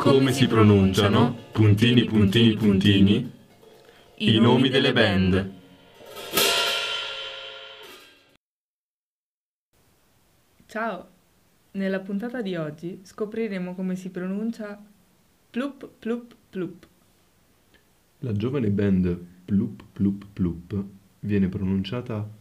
come si pronunciano, puntini puntini puntini, i nomi delle band. Ciao! Nella puntata di oggi scopriremo come si pronuncia plup plup plup. La giovane band Ploop Ploop Ploop viene pronunciata